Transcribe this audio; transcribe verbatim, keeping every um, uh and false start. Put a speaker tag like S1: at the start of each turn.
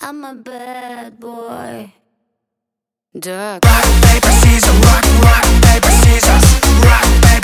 S1: I'm a bad boy.
S2: Duck.
S3: Rock, paper, scissors, rock, rock, paper, scissors, rock, paper.